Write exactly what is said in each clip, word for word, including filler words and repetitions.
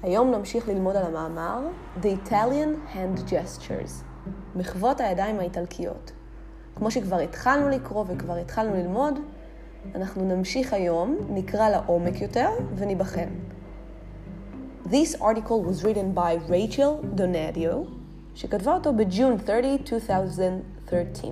היום נמשיך ללמוד על המאמר The Italian Hand Gestures, מחוות הידיים האיטלקיות. כמו שכבר התחלנו לקרוא וכבר התחלנו ללמוד, אנחנו נמשיך היום, נקרא לעומק יותר ונבחן. This article was written by Rachel Donadio, שכתבה אותו ב-June thirtieth, twenty thirteen.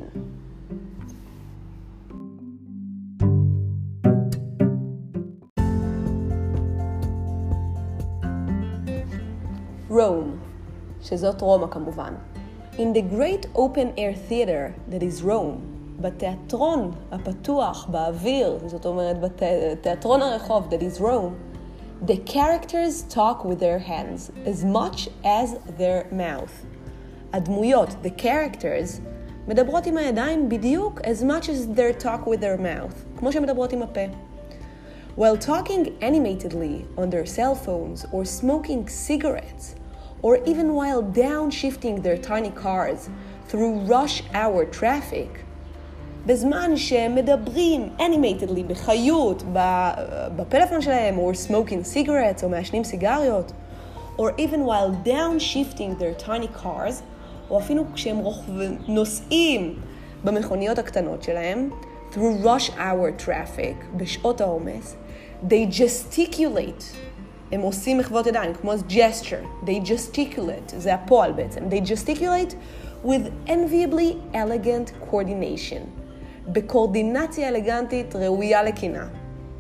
Rome, שזאת רומא כמובן. In the great open-air theater that is Rome, בתיאטרון הפתוח באוויר, זאת אומרת בתיאטרון הרחוב that is Rome, the characters talk with their hands as much as their mouth. הדמויות, the characters, מדברות עם הידיים בדיוק as much as they talk with their mouth, כמו שמדברות עם הפה. While talking animatedly on their cell phones or smoking cigarettes, or even while downshifting their tiny cars through rush hour traffic, בזמן שהם מדברים animatedly, בחיות, בפלאפון שלהם, or smoking cigarettes, או מעשנים סיגריות, or even while downshifting their tiny cars, או אפילו כשהם נוסעים במכוניות הקטנות שלהם, through rush hour traffic, בשעות העומס, they gesticulate. הם עושים מחוות ידיים, כמו gesture. They gesticulate, זה הפועל בעצם. They gesticulate with enviably elegant coordination. בקורדינציה אלגנטית ראויה לקינה.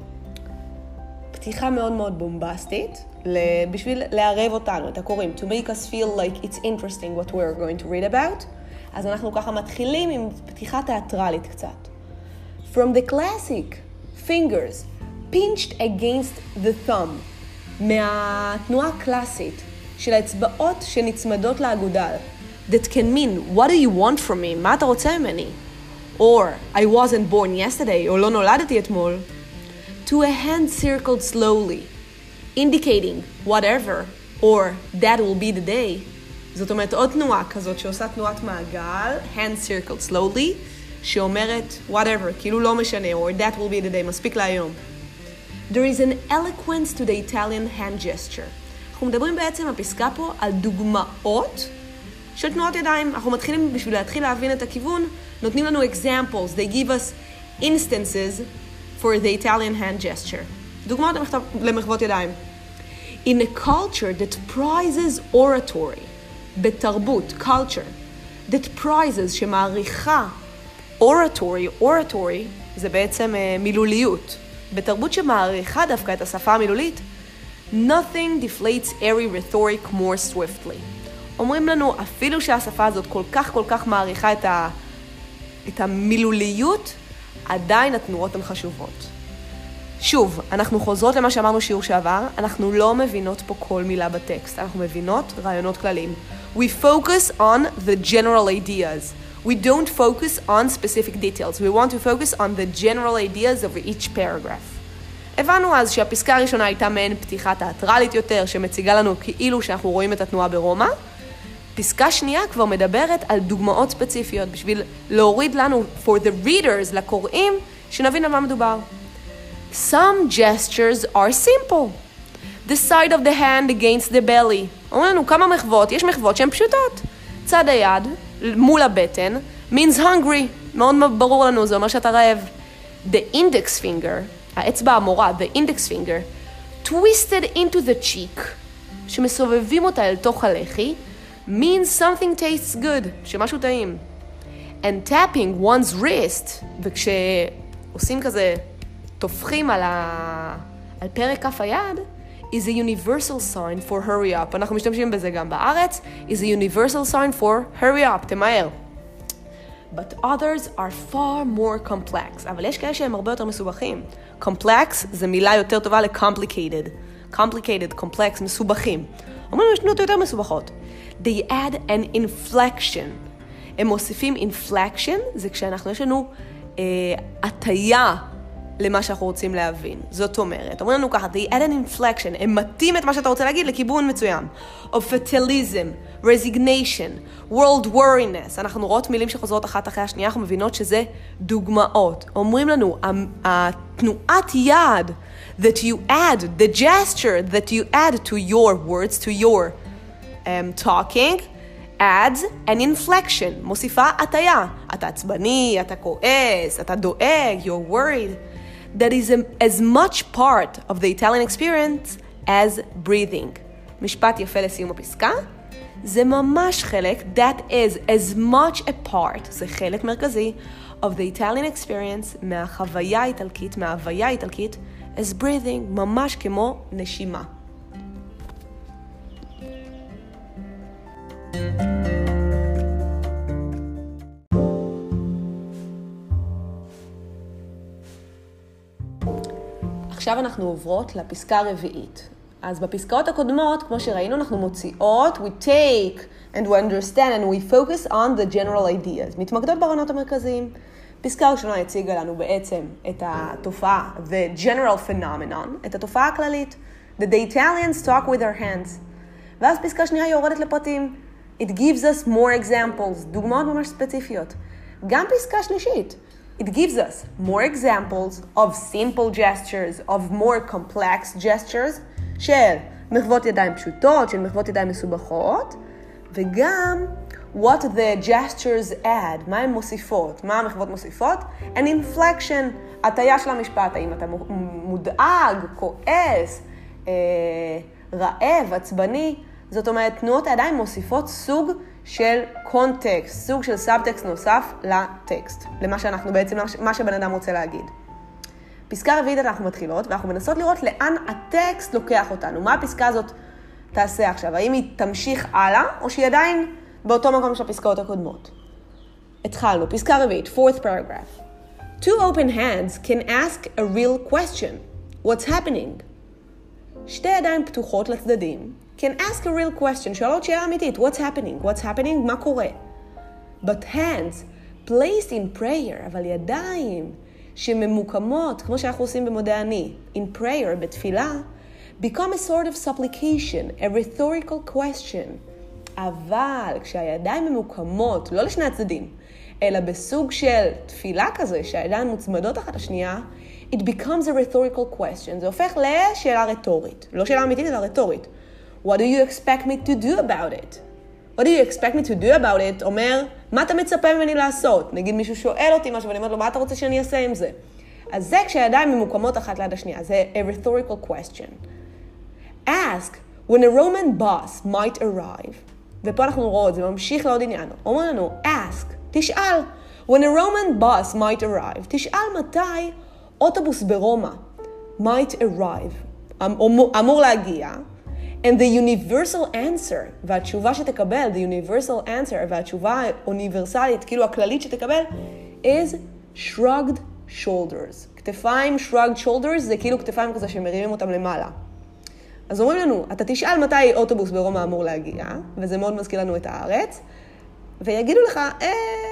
פתיחה מאוד מאוד בומבסטית, בשביל לערב אותנו, את הקוראים. To make us feel like it's interesting what we're going to read about. אז אנחנו ככה מתחילים עם פתיחה תיאטרלית קצת. From the classic fingers pinched against the thumb. מהתנועה הקלאסית של האצבעות שנצמדות לאגודל. That can mean, what do you want from me? מה אתה רוצה ממני? Or, I wasn't born yesterday, או לא נולדתי אתמול. To a hand circled slowly, indicating whatever, or that will be the day. זאת אומרת, עוד תנועה כזאת שעושה תנועת מעגל, hand circled slowly, שאומרת whatever, כאילו לא משנה, or that will be the day, מספיק להיום. There is an eloquence to the Italian hand gesture. אנחנו מדברים בעצם בפסקה פה על דוגמאות של תנועות ידיים. אנחנו מתחילים, בשביל להתחיל להבין את הכיוון, נותנים לנו examples. They give us instances for the Italian hand gesture. דוגמאות למחוות ידיים. In a culture that prizes oratory, בתרבות, culture, that prizes, שמעריכה oratory, oratory, זה בעצם uh, מילוליות. בתרבות שמעריכה דווקא את השפה המילולית, nothing deflates airy rhetoric more swiftly. אומרים לנו, אפילו שהשפה הזאת כל כך כל כך מעריכה את, ה... את המילוליות, עדיין התנועות הן חשובות. שוב, אנחנו חוזרות למה שאמרנו שיעור שעבר, אנחנו לא מבינות פה כל מילה בטקסט, אנחנו מבינות רעיונות כלליים. We focus on the general ideas. We don't focus on specific details. We want to focus on the general ideas of each paragraph. הבנו אז שהפסקה הראשונה הייתה מעין פתיחה תיאטרלית יותר, שמציגה לנו כאילו שאנחנו רואים את התנועה ברומא. פסקה שנייה כבר מדברת על דוגמאות ספציפיות, בשביל להוריד לנו, for the readers, לקוראים, שנבין על מה מדובר. Some gestures are simple. The side of the hand against the belly. אומרים לנו כמה מחוות, יש מחוות שהן פשוטות. צד היד, מול הבטן, means hungry. מאוד ברור לנו, זה אומר שאתה רעב. The index finger, האצבע המורה, the index finger, twisted into the cheek, שמסובבים אותה אל תוך הלחי, means something tastes good, שמשהו טעים. And tapping one's wrist, וכשעושים כזה, תופחים על, ה... על פרק כף היד, is a universal sign for hurry up. אנחנו משתמשים בזה גם בארץ. is a universal sign for hurry up, תמהר. But others are far more complex. אבל יש כאלה שהם הרבה יותר מסובכים. Complex זה מילה יותר טובה ל-complicated. Complicated, complex, מסובכים. אומרים יש תנועות יותר מסובכות. They add an inflection. הם מוסיפים inflection, זה כשאנחנו יש לנו אה, הטיה למה שאנחנו רוצים להבין. זאת אומרת, אומרים לנו ככה, they add an inflection, הם מתאים את מה שאתה רוצה להגיד לכיוון מצוין. Of fatalism, resignation, world wariness. אנחנו רואות מילים שחוזרות אחת אחרי השנייה, אנחנו מבינות שזה דוגמאות. אומרים לנו, התנועת יד that you add, the gesture that you add to your words, to your um, talking, adds an inflection, מוסיפה הטיה. אתה עצבני, אתה כועס, אתה דואג, you're worried. That is a, as much part of the Italian experience as breathing. משפט יפה לסיום הפסקה. זה ממש חלק, that is as much a part, זה חלק מרכזי, of the Italian experience, מהחוויה האיטלקית, מההוויה האיטלקית, as breathing, ממש כמו נשימה. עכשיו אנחנו עוברות לפסקה הרביעית. אז בפסקאות הקודמות, כמו שראינו, אנחנו מוציאות, we take and we understand and we focus on the general ideas. מתמקדות ברעיונות המרכזיים. פסקה ראשונה הציגה לנו בעצם את התופעה, the general phenomenon, את התופעה הכללית, that the Italians talk with their hands. ואז פסקה שנייה יורדת לפרטים. It gives us more examples, דוגמאות ממש ספציפיות. גם פסקה שלישית. It gives us more examples of simple gestures, of more complex gestures, של מחוות ידיים פשוטות, של מחוות ידיים מסובכות, וגם what the gestures add, מה הן מוסיפות, מה המחוות מוסיפות, an inflection, הטיה של המשפט, האם אתה מודאג, כועס, אה, רעב, עצבני, זאת אומרת, תנועות הידיים מוסיפות סוג של קונטקסט, סוג של סאבטקסט נוסף לטקסט, למה שאנחנו בעצם, מה שבן אדם רוצה להגיד. פסקה רביעית אנחנו מתחילות, ואנחנו מנסות לראות לאן הטקסט לוקח אותנו. מה הפסקה הזאת תעשה עכשיו? האם היא תמשיך הלאה, או שהיא עדיין באותו מקום של הפסקאות הקודמות? התחלנו, פסקה רביעית, fourth paragraph. Two open hands can ask a real question. What's happening? שתי ידיים פתוחות לצדדים can ask a real question. שואלות שאלה אמיתית. What's happening? What's happening? מה קורה? But hands placed in prayer, אבל ידיים שממוקמות, כמו שאנחנו עושים במודע אני, in prayer, בתפילה, become a sort of supplication, a rhetorical question. אבל כשהידיים ממוקמות, לא לשני הצדדים, אלא בסוג של תפילה כזה, שהידיים מוצמדות אחת השנייה, it becomes a rhetorical question. זה הופך לשאלה רטורית. לא שאלה אמיתית, אלא רטורית. What do you expect me to do about it? What do you expect me to do about it? אומר, מה אתה מצפה ממני לעשות? נגיד מישהו שואל אותי משהו, ואני אומרת לו, מה אתה רוצה שאני אעשה עם זה? אז זה כשהידיים ממוקמות אחת ליד השנייה. זה a rhetorical question. Ask, when a Roman boss might arrive. ופה אנחנו רואות, זה ממשיך לעוד עניין. אומר לנו, ask, תשאל. When a Roman boss might arrive. תשאל מתי אוטובוס ברומא might arrive. אמור, אמור להגיע. And the universal answer, והתשובה שתקבל, the universal answer, והתשובה האוניברסלית, כאילו הכללית שתקבל, is shrugged shoulders. כתפיים shrugged shoulders, זה כאילו כתפיים כזה שמרימים אותם למעלה. אז אומרים לנו, אתה תשאל מתי אוטובוס ברומא אמור להגיע, וזה מאוד מזכיר לנו את הארץ, ויגידו לך, אה,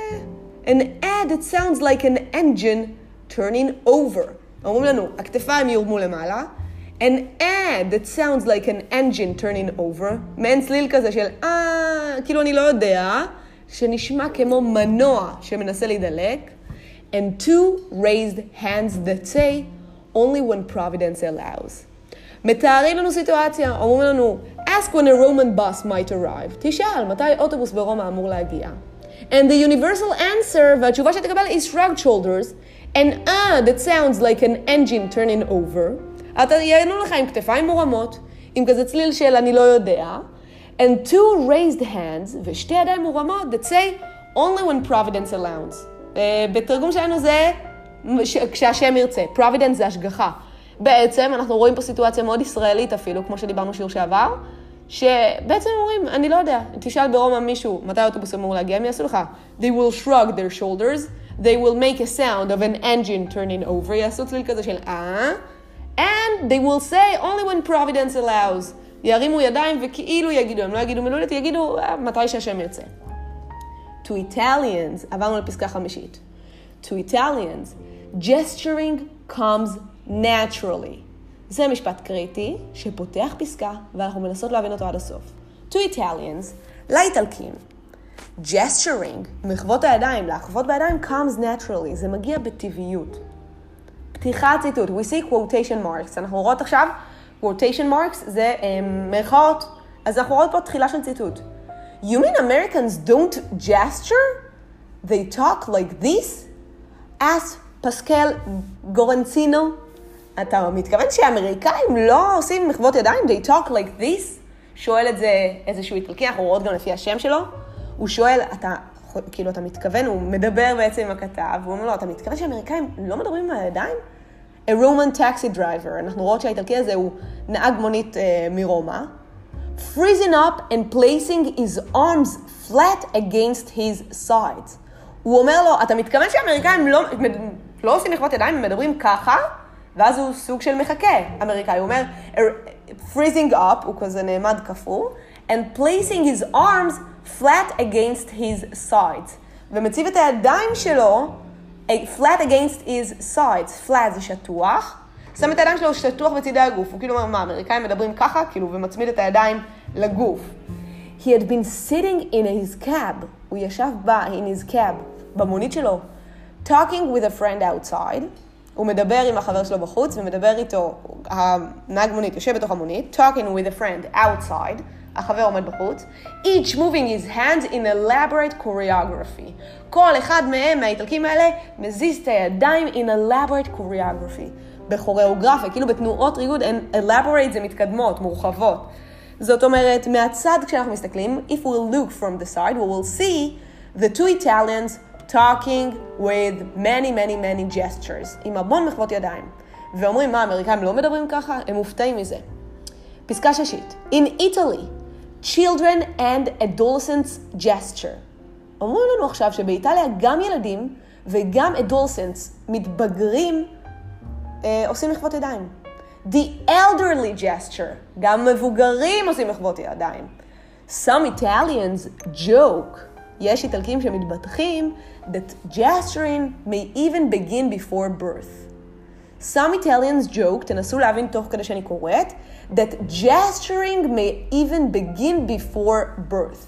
an ad that sounds like an engine turning over. אומרים לנו, הכתפיים יורמו למעלה, an ad that sounds like an engine turning over, מעין צליל כזה של, אה, כאילו אני לא יודע, שנשמע כמו מנוע שמנסה להידלק, and two raised hands that say, only when Providence allows. מתארים לנו סיטואציה, אומרים לנו, ask when a Roman bus might arrive. תשאל, מתי אוטובוס ברומא אמור להגיע? And the universal answer, והתשובה שתקבל is shrugged shoulders, an ah that sounds like an engine turning over. אתה יענו לך עם כתפיים מורמות, עם כזה צליל של אני לא יודע, and two raised hands, ושתי ידיים מורמות, that say, only when Providence allows. בתרגום שלנו זה, כשהשם ירצה. Providence זה השגחה. בעצם אנחנו רואים פה סיטואציה מאוד ישראלית אפילו, כמו שדיברנו שיעור שעבר, שבעצם אומרים, אני לא יודע, תשאל ברומא מישהו, מתי האוטובוס אמור להגיע, הם יעשו לך, they will shrug their shoulders, they will make a sound of an engine turning over, יעשו צליל כזה של אה, and they will say only when Providence allows, ירימו ידיים וכאילו יגידו, הם לא יגידו מילולית, יגידו מתי שהשם ירצה. To Italians, עברנו לפסקה חמישית, to Italians, gesturing comes naturally. זה משפט קריטי שפותח פסקה ואנחנו מנסות להבין אותו עד הסוף. To Italians, לאיטלקים, gesturing, מחוות הידיים, להחוות בידיים comes naturally, זה מגיע בטבעיות. פתיחת ציטוט, we see quotation marks, אנחנו רואות עכשיו, quotation marks זה um, מרכאות, אז אנחנו רואות פה תחילה של ציטוט. You mean Americans don't gesture? They talk like this? Ask פסקל גורנצינו. אתה מתכוון שהאמריקאים לא עושים מחוות ידיים? They talk like this? שואל את זה איזשהו איטלקי, אנחנו רואות גם לפי השם שלו. הוא שואל, אתה, כאילו אתה מתכוון, הוא מדבר בעצם עם הכתב, הוא אומר לו, אתה מתכוון שהאמריקאים לא מדברים עם הידיים? A Roman taxi driver, אנחנו רואות שהאיטלקי הזה הוא נהג מונית uh, מרומא. Freezing up and placing his arms flat against his sides. הוא אומר לו, אתה מתכוון שהאמריקאים לא, לא עושים מחוות ידיים, הם מדברים ככה, ואז הוא סוג של מחכה, אמריקאי. הוא אומר, freezing up, הוא כזה נעמד כפור, and placing his arms flat against his sides. ומציב את הידיים שלו, flat against his sides. flat זה שטוח. שם את הידיים שלו שטוח בצדי הגוף. הוא כאילו אומר, מה, האמריקאים מדברים ככה, כאילו, ומצמיד את הידיים לגוף. He had been sitting in his cab. הוא ישב בה, in his cab, במונית שלו, talking with a friend outside. הוא מדבר עם החבר שלו בחוץ, ומדבר איתו, הנהג מונית יושב בתוך המונית, talking with a friend outside, החבר עומד בחוץ, each moving his hands in elaborate choreography. כל אחד מהם, מהאיטלקים האלה, מזיז את הידיים in elaborate choreography. בכוריאוגרפיה, כאילו בתנועות ריגוד, elaborate זה מתקדמות, מורחבות. זאת אומרת, מהצד כשאנחנו מסתכלים, if we'll look from the side, we will see the two Italians talking with many, many, many gestures, עם המון מחוות ידיים. ואומרים, מה, האמריקאים לא מדברים ככה? הם מופתעים מזה. פסקה ששית. In Italy, children and adolescents gesture. אומרים לנו עכשיו שבאיטליה גם ילדים וגם adolescents מתבגרים אה, עושים מחוות ידיים. The elderly gesture. גם מבוגרים עושים מחוות ידיים. Some Italians joke. יש איטלקים שמתבטחים that gesturing may even begin before birth. Some Italians joke, תנסו להבין תוך כדי שאני קוראת, that gesturing may even begin before birth.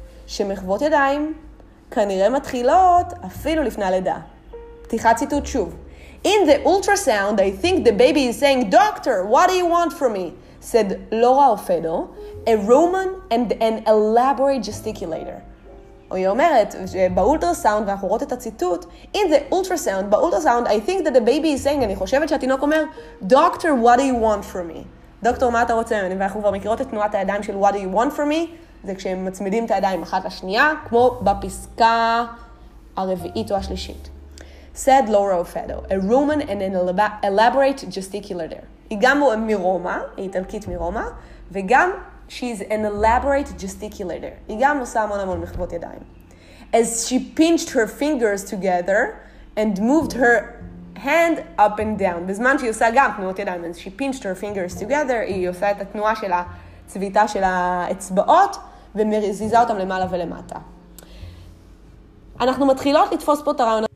שמחוות ידיים כנראה מתחילות אפילו לפני הלידה. פתיחת ציטוט שוב. In the ultrasound, I think the baby is saying, Doctor, what do you want from me? Said Laura Ofedo, a Roman and an elaborate gesticulator. היא אומרת שבאולטרסאונד, ואנחנו רואות את הציטוט, in the ultrasound, באולטרסאונד, I think that the baby is saying, אני חושבת שהתינוק אומר, Doctor, what do you want from me? דוקטור, מה אתה רוצה ממני? ואנחנו כבר מכירות את תנועת הידיים של what do you want from me? זה כשהם מצמידים את הידיים אחת לשנייה, כמו בפסקה הרביעית או השלישית. Said Laura Ofedo, a Roman and an elaborate gesticulator. היא גם מרומא, היא איטלקית מרומא, וגם she's an elaborate gesticulator. היא גם עושה המון המון מחוות ידיים. As she pinched her fingers together and moved her hand up and down. בזמן שהיא עושה גם תנועות ידיים. As she pinched her fingers together, היא עושה את התנועה של הצביטה של האצבעות, ומזיזה אותם למעלה ולמטה. אנחנו מתחילות לתפוס פה את הרעיון